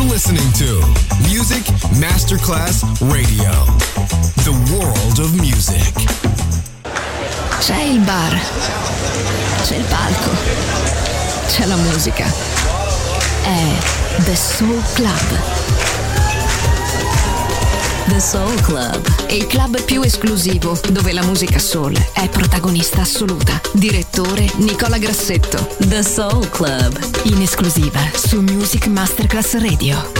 listening to Music Masterclass Radio. The world of music. C'è il bar, c'è il palco, c'è la musica. È The Soul Club. The Soul Club, il club più esclusivo dove la musica soul è protagonista assoluta. Direttore Nicola Grassetto. The Soul Club, in esclusiva su Music Masterclass Radio.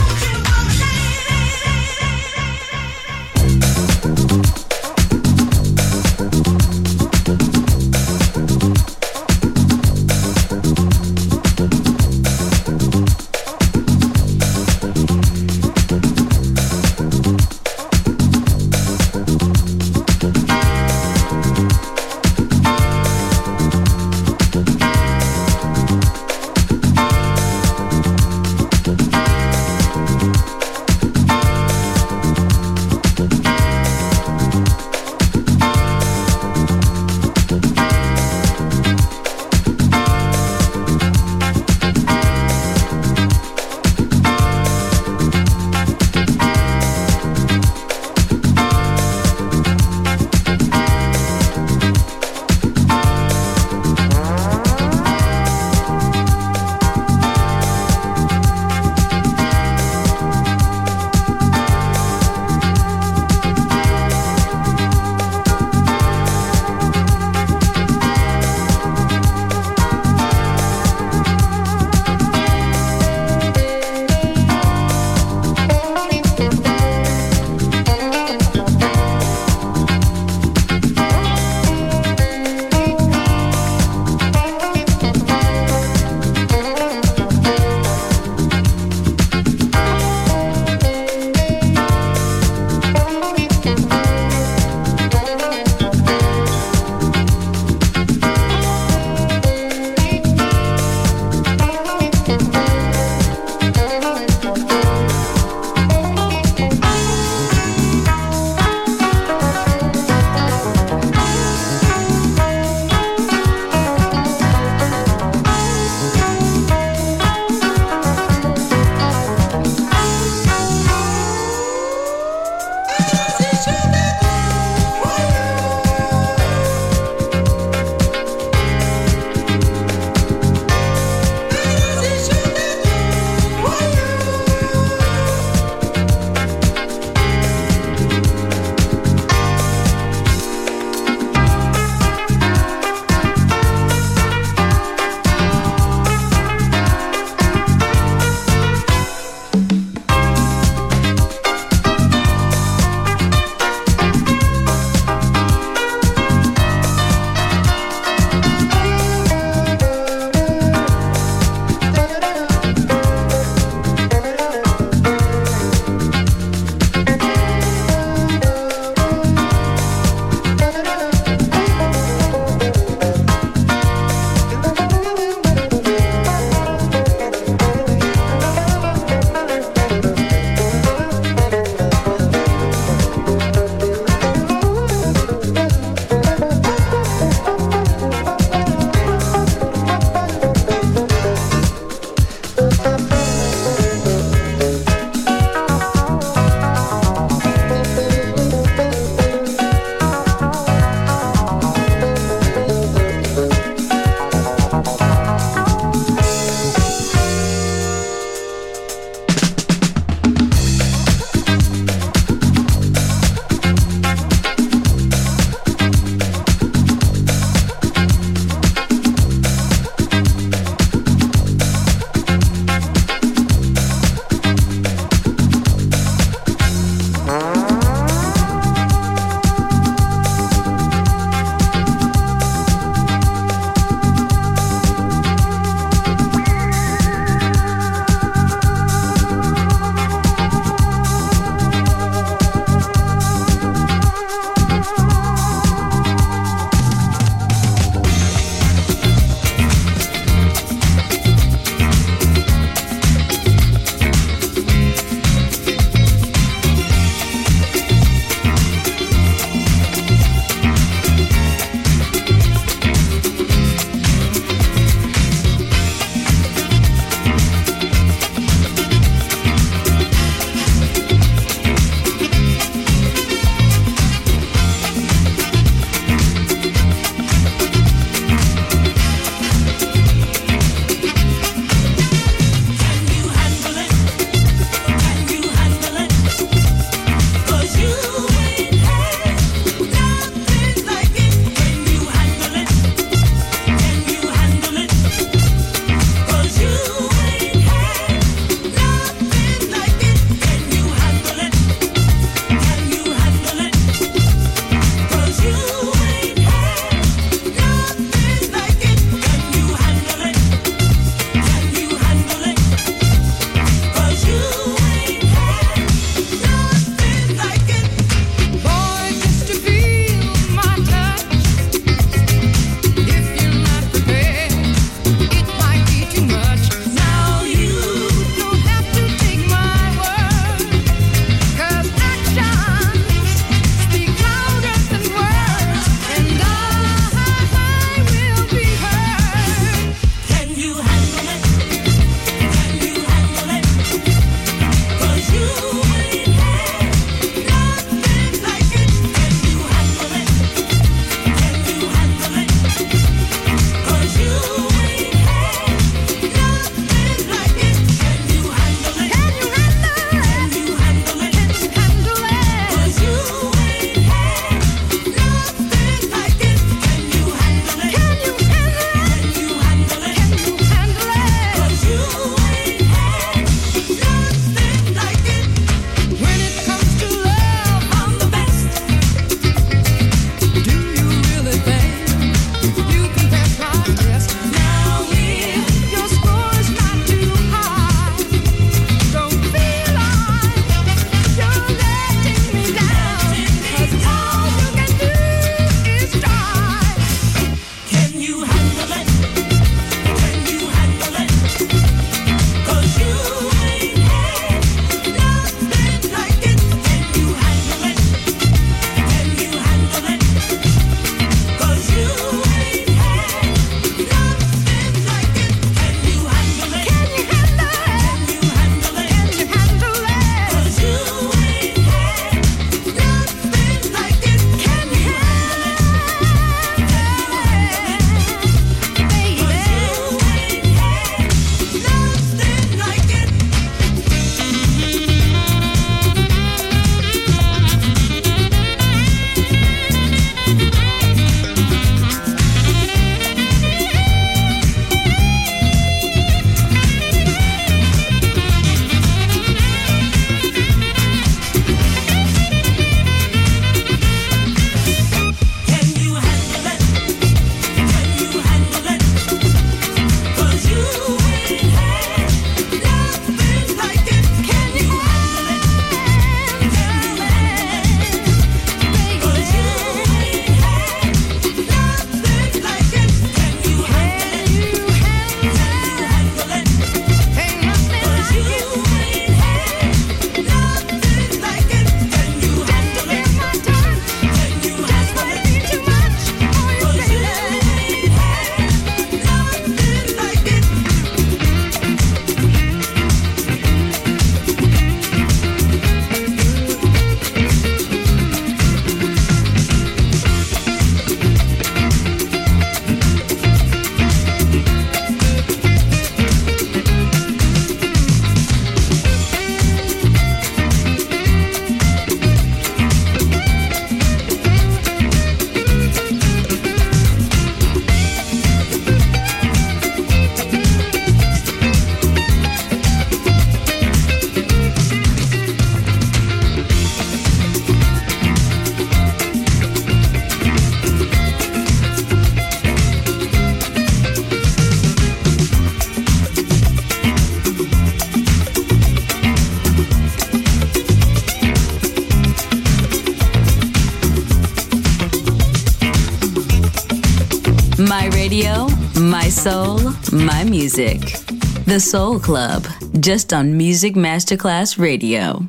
radio, my soul, my music. The Soul Club, just on Music Masterclass Radio.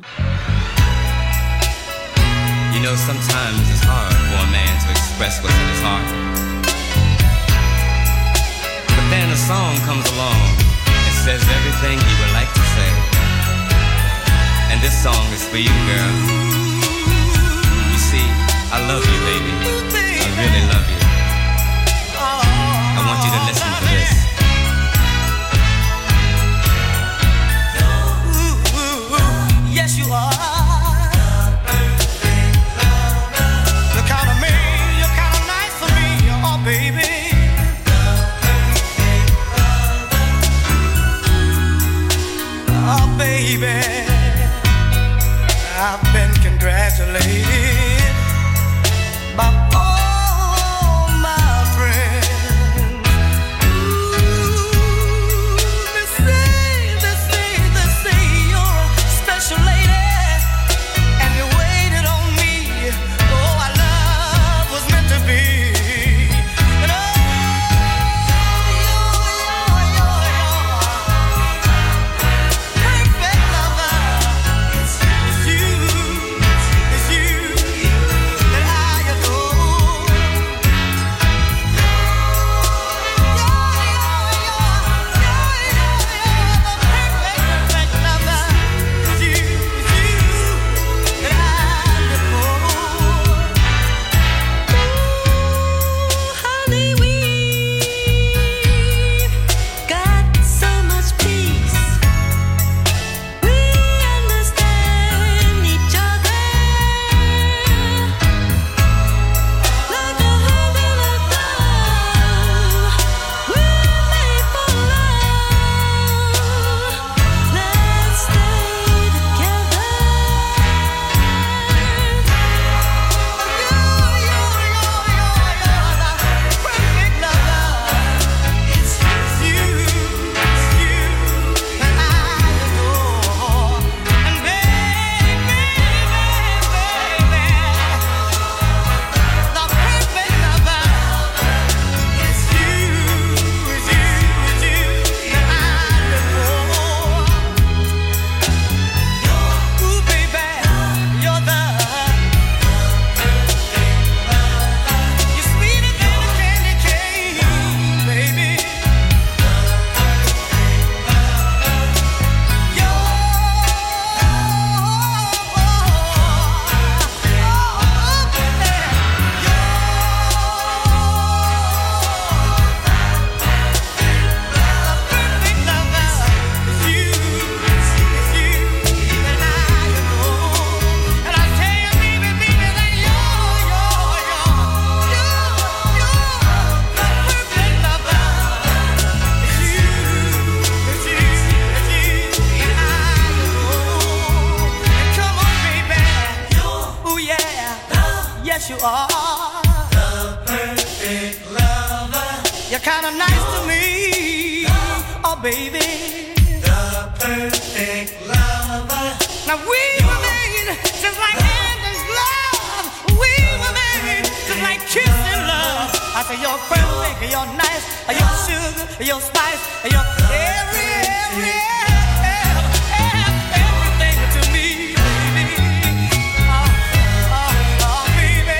You know, sometimes it's hard for a man to express what's in his heart. But then a song comes along and says everything he would like to say. And this song is for you, girl. You see, I love you, baby. I really love you. I want you to listen to this. Yes, you are. The kind of man, you're kind of nice for me, oh baby. Oh baby, I've been congratulated by all my friends. Ooh, they say you're a special lady, and you waited on me. Oh, our love was meant to be. And perfect lover. It's you that I adore. The perfect lover. It's you that I adore. Ooh, honey, we've got so much peace. We understand each other like a hand in a glove. We're made for love. Let's stay together. You're the perfect lover. It's you that I adore. And baby, the perfect lover. It's you that I adore. Ooh, baby, you're sweeter than a candy cane, baby. Yes, you are the perfect lover. You're kind of nice to me, oh baby. The perfect lover. Now we were made just like hand and glove. We were made just like kiss and love. I say you're perfect, you're nice, you're sugar, you're spice, you're everything to me, baby. Oh, baby.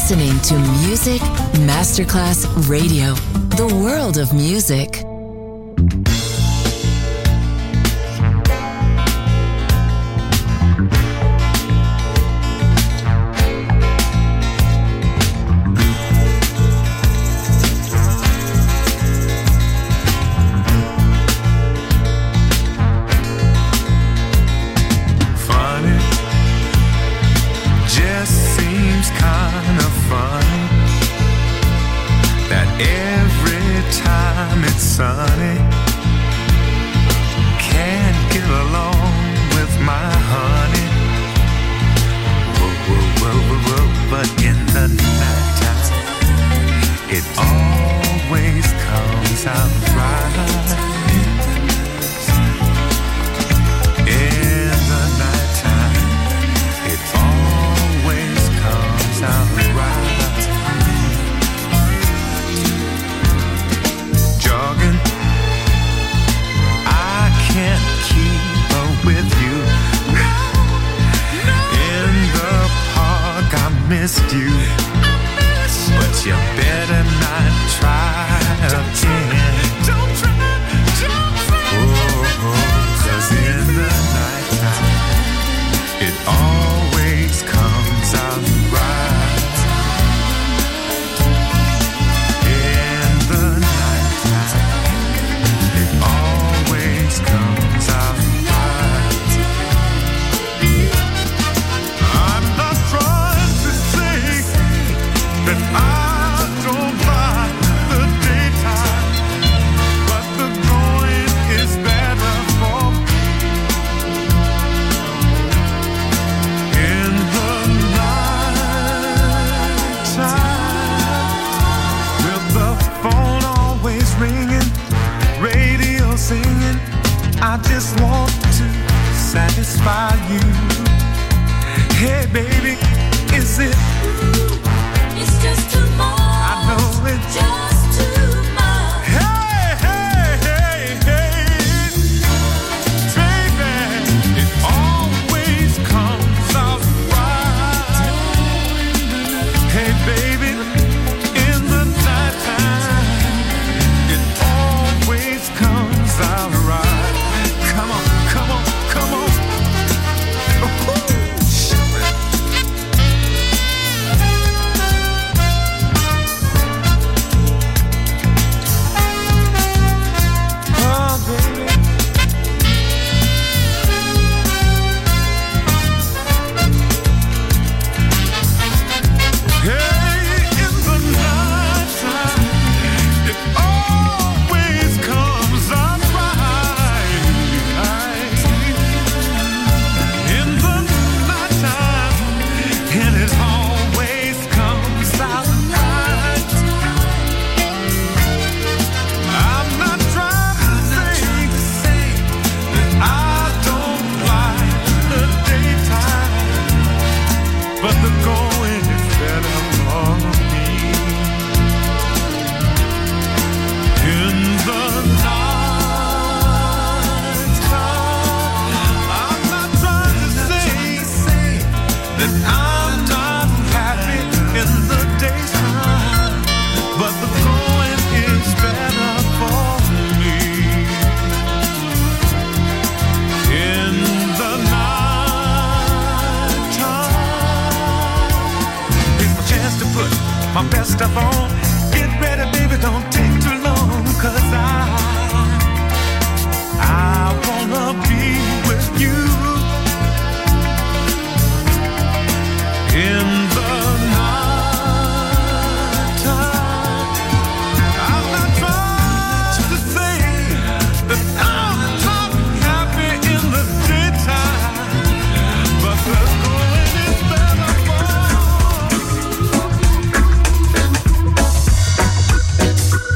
listening to Music Masterclass Radio, the world of music. Sunny, can't get along with my honey. Whoa, whoa, whoa, whoa, whoa. But in the nighttime, it always comes out right. In the nighttime, it always comes out right. Jogging, I can't keep up with you. In the park, I missed you. But you better not try again. Don't try. Oh, 'cause in the nighttime, it always comes out right. Comes out right. I'm not trying to say that I don't like the daytime, but the going is better for me. In the nighttime, with the phone always ringing, radio singing, I just want to satisfy you. Hey baby, is it? It's just too much. I know it's just too much. Hey, hey, hey, hey, baby, it always comes out right. Hey baby, in the nighttime, it always comes out right. Come on, come on, come on. Oh, baby. Hey, in the nighttime, it always comes out right. In the nighttime, and it always comes out right. I'm not trying to say that I don't like the daytime, but the going is better for me. In the nighttime, I'm not trying to say that I'm not happy in the daytime, but the going is better for me. In the nighttime, it's my chance to put my best stuff on. Get ready, baby, don't take too long, 'cause I wanna be with you. In the nighttime, I'm not trying to say that I'm not happy in the daytime, but the going is better for me.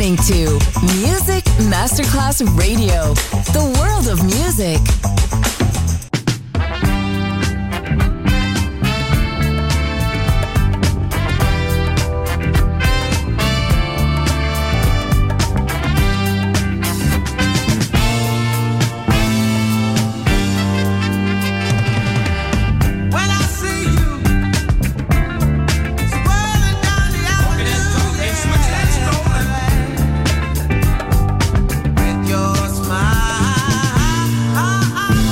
listening to Music Masterclass Radio, the world of music. Your smile.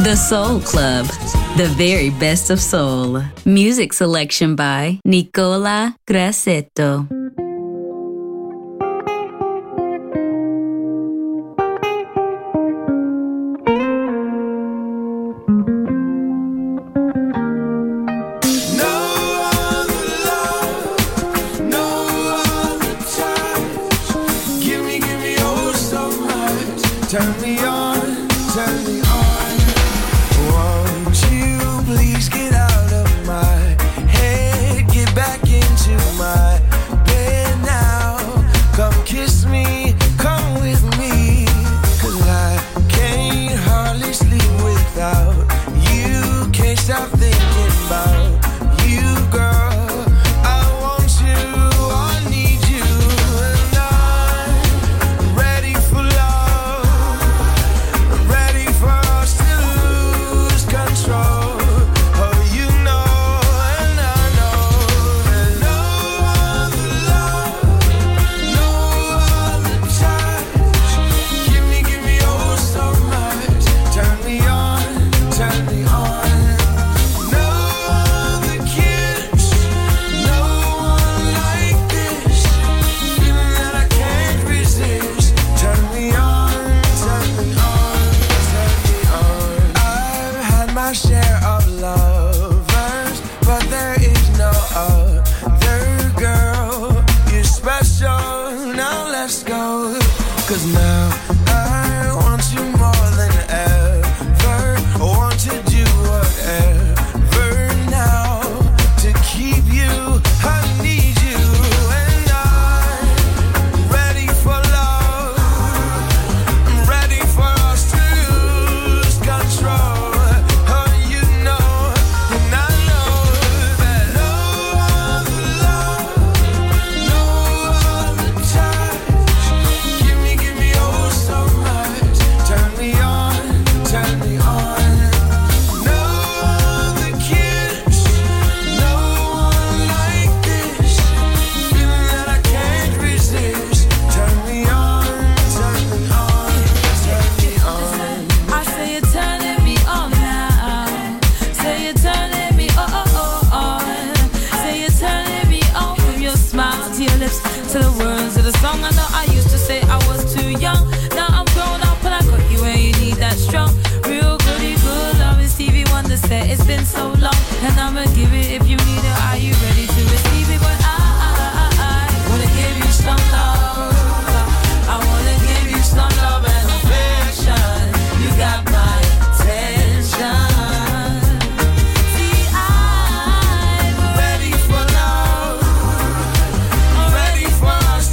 The Soul Club, the very best of soul. Music selection by Nicola Grassetto. Turn me on, turn me on. Won't you please get out of my head, get back into my bed now. Come kiss me, come with me, 'cause I can't hardly sleep without you. Can't stop thinking about you, girl. I want you, I need you, and I'm ready for love. Ready for us to lose control. Oh, you know, and I know that no other love, no other touch. Give me oh so much. Turn me on, turn me on. No other kiss, no one like this. Feeling that I can't resist. Turn me on, turn me on. I've had my share of lovers, but there is no other girl. You're special, now let's go. 'Cause now I want you more than ever. I want to do whatever now to keep you. I need you, and I'm ready for love. I'm ready for us to lose control. Oh, you know, and I know that no other love, no other touch. Give me oh so much. Turn me on, turn me on. No other kiss, no one like this. Feeling that I can't resist. Turn me on, turn me on, turn me on. I say you're turning me on now. Say you're turning me on. Say you're turning me on from your smile to your lips to the words of the song. I know I used to say I was too young. Now I'm grown up and I got you where you need that strong, real goody good love. Is Stevie Wonder said it's been so long, and I'ma give it if you need it. Are you ready to receive it? But I wanna give you some love. I wanna give you some love and affection. You got my attention. See, I'm ready for love. I'm ready for us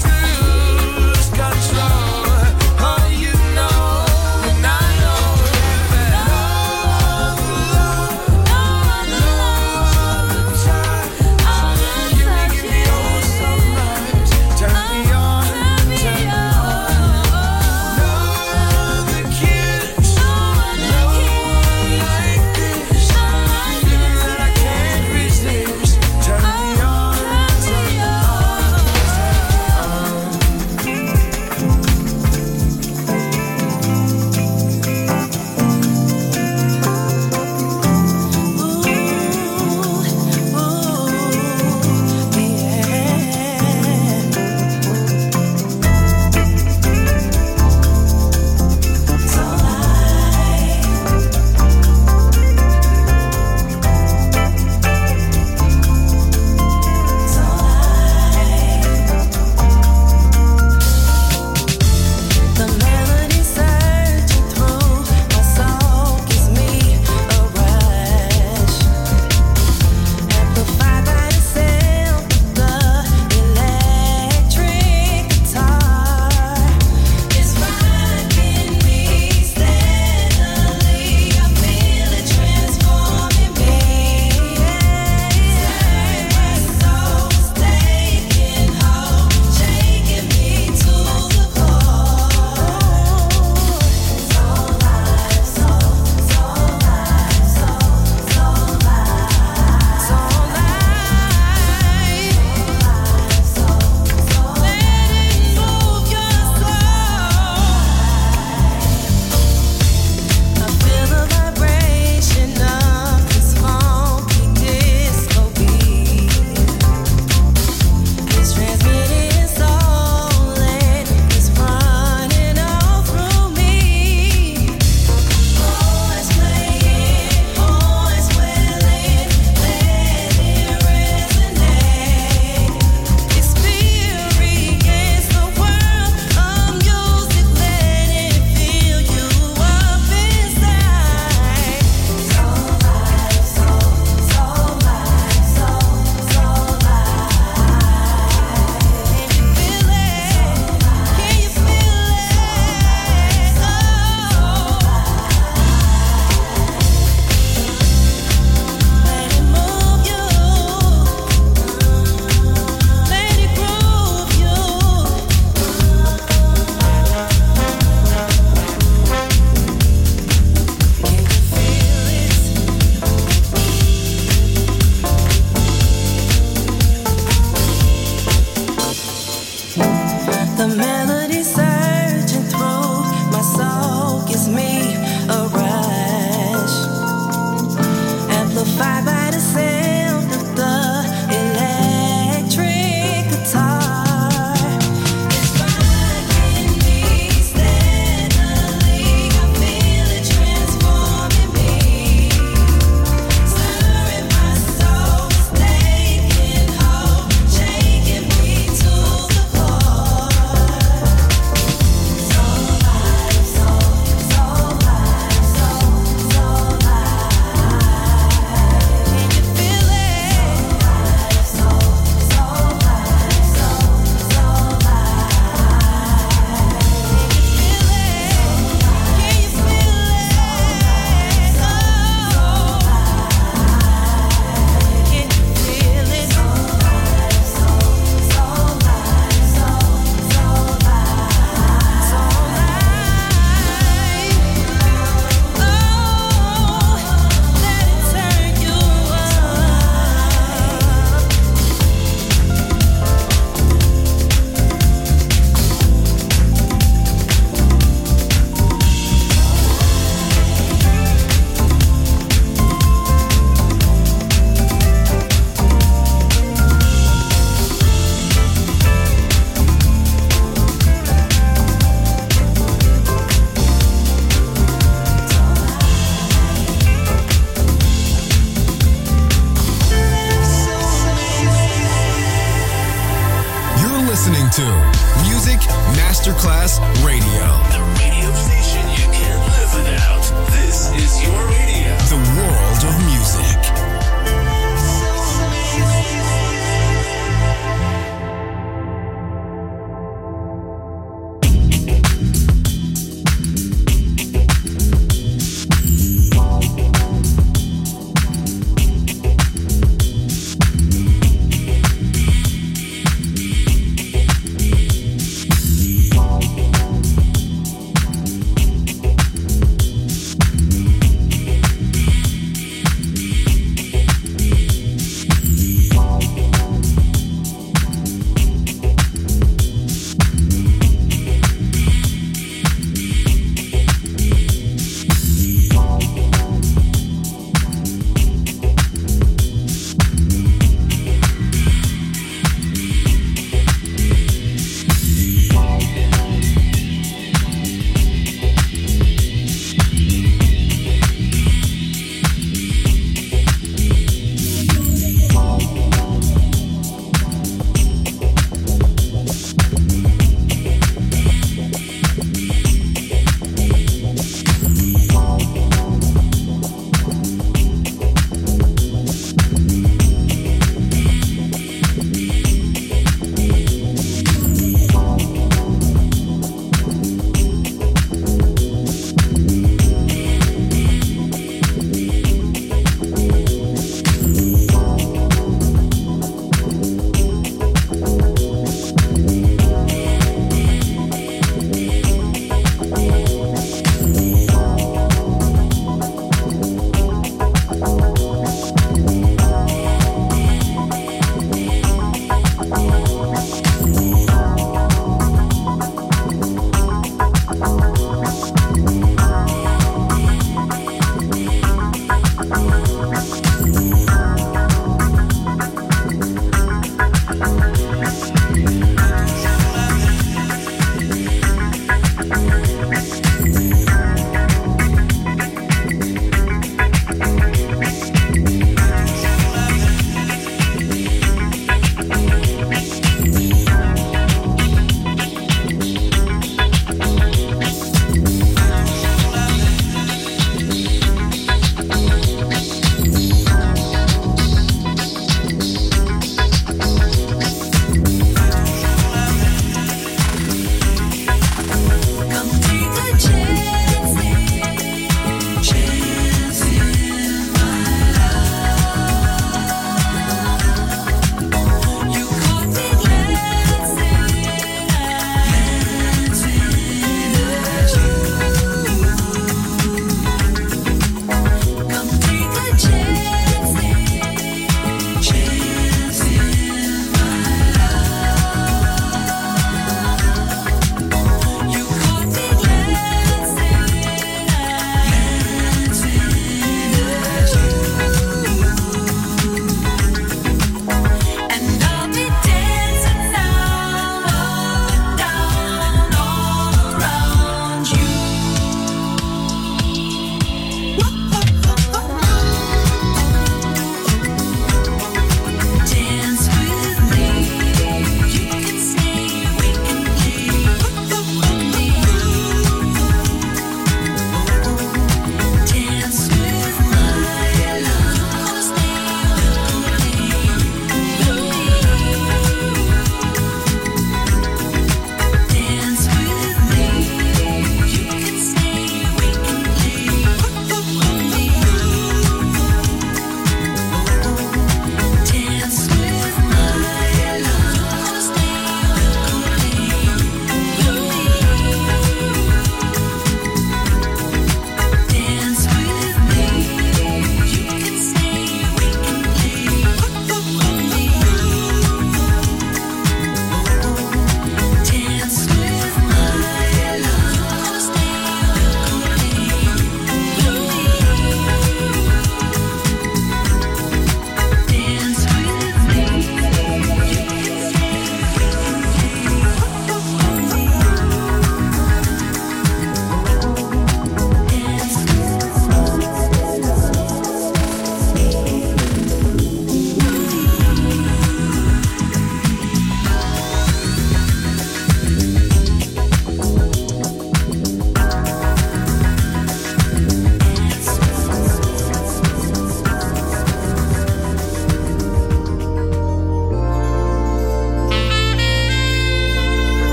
to Music Masterclass Radio. The radio station you can't live without. This is your radio. The world of music.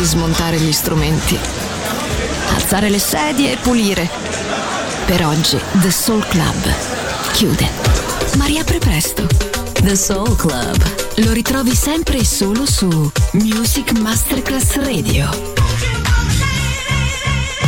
smontare gli strumenti, alzare le sedie e pulire. Per oggi The Soul Club chiude, ma riapre presto. The Soul Club lo ritrovi sempre e solo su Music Masterclass Radio.